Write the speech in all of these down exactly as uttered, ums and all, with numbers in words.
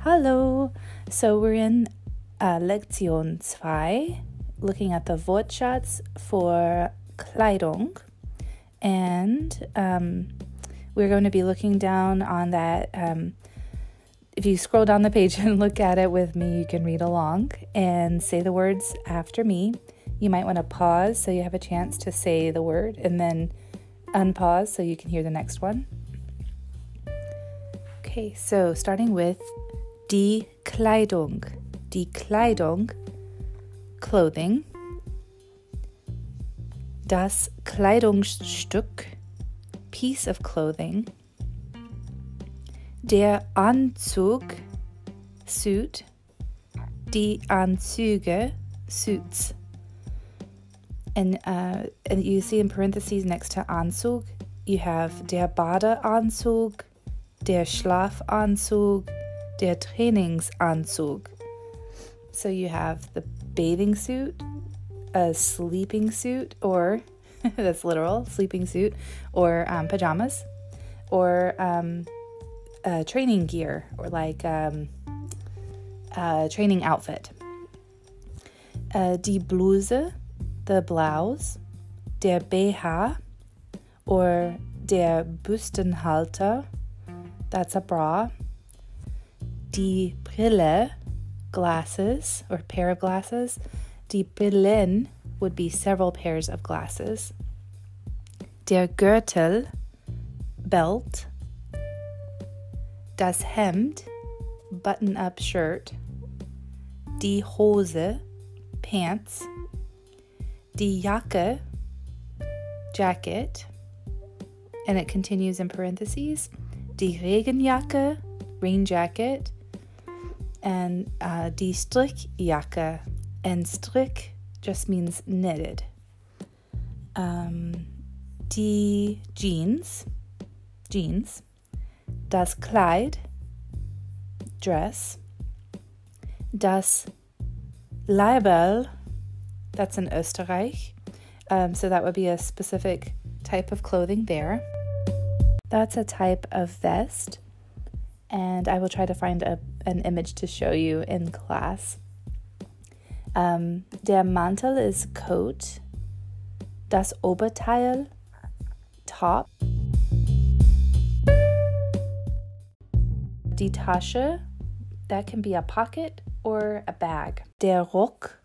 Hallo! So we're in uh, Lektion zwei, looking at the Wortschatz for Kleidung, and um, we're going to be looking down on that. Um, if you scroll down the page and look at it with me, you can read along and say the words after me. You might want to pause so you have a chance to say the word, and then unpause so you can hear the next one. Okay, so starting with die Kleidung. Die Kleidung, clothing. Das Kleidungsstück, piece of clothing. Der Anzug, suit. Die Anzüge, suits. And, uh, and you see in parentheses next to Anzug, you have der Badeanzug, der Schlafanzug, der Trainingsanzug. So you have the bathing suit, a sleeping suit, or that's literal, sleeping suit, or um, pajamas, or um, uh, training gear, or like um, a training outfit. Uh, die Bluse, the blouse, der B H, or der Büstenhalter, that's a bra. Die Brille, glasses, or pair of glasses. Die Brillen would be several pairs of glasses. Der Gürtel, belt. Das Hemd, button-up shirt. Die Hose, pants. Die Jacke, jacket. And it continues in parentheses. Die Regenjacke, rain jacket. And uh, die Strickjacke. And strick just means knitted. Um, die Jeans, jeans. Das Kleid, dress. Das Leiberl, that's in Österreich. Um, so that would be a specific type of clothing there. That's a type of vest. And I will try to find a, an image to show you in class. Um, der Mantel is coat. Das Oberteil, top. Die Tasche, that can be a pocket or a bag. Der Rock,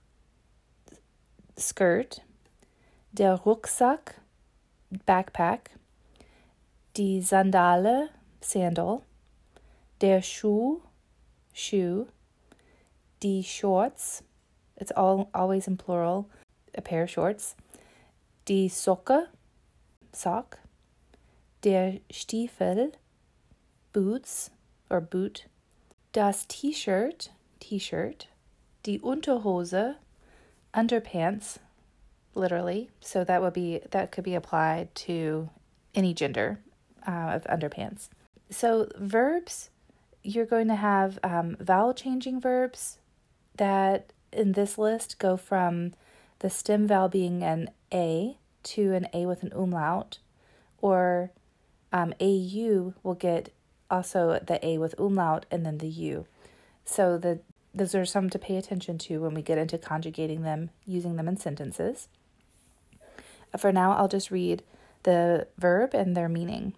skirt. Der Rucksack, backpack. Die Sandale, sandal. Der Schuh, shoe. Die Shorts, it's all always in plural, a pair of shorts. Die Socke, sock. Der Stiefel, boots or boot. Das T-shirt, t-shirt. Die Unterhose, underpants, literally. So that would be that could be applied to any gender uh, of underpants. So verbs, you're going to have um, vowel changing verbs that in this list go from the stem vowel being an A to an A with an umlaut, or um, A U will get also the A with umlaut and then the U. So the those are some to pay attention to when we get into conjugating them, using them in sentences. For now, I'll just read the verb and their meaning.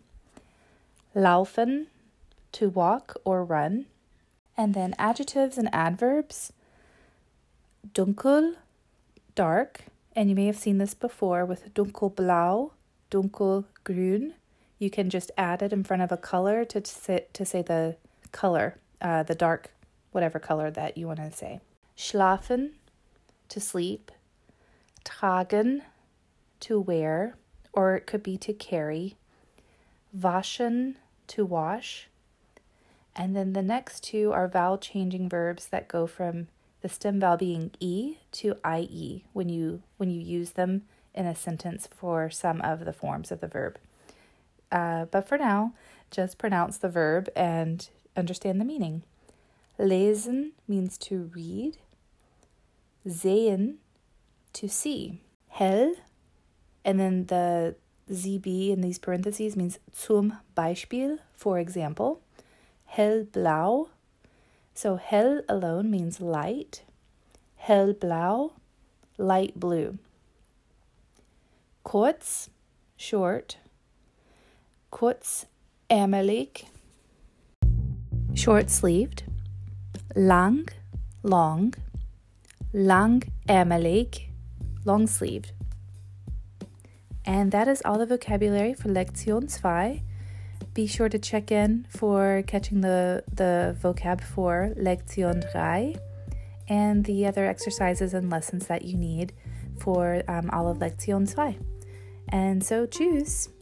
Laufen, to walk or run. And then adjectives and adverbs. Dunkel, dark. And you may have seen this before with dunkelblau, dunkelgrün. You can just add it in front of a color to say, to say the color, uh, the dark, whatever color that you want to say. Schlafen, to sleep. Tragen, to wear, or it could be to carry. Waschen, to wash. And then the next two are vowel changing verbs that go from the stem vowel being E to I E when you when you use them in a sentence for some of the forms of the verb. Uh, but for now, just pronounce the verb and understand the meaning. Lesen means to read. Sehen, to see. Hell, and then the Z B in these parentheses means zum Beispiel, for example. Hellblau, So hell alone means light. Hellblau, light blue. Kurz, short. Kurzärmelig, short-sleeved. Lang, long. Langärmelig, long-sleeved. And that is all the vocabulary for Lektion two. Be sure to check in for catching the, the vocab for Lektion three and the other exercises and lessons that you need for um, all of Lektion two. And so, tschüss!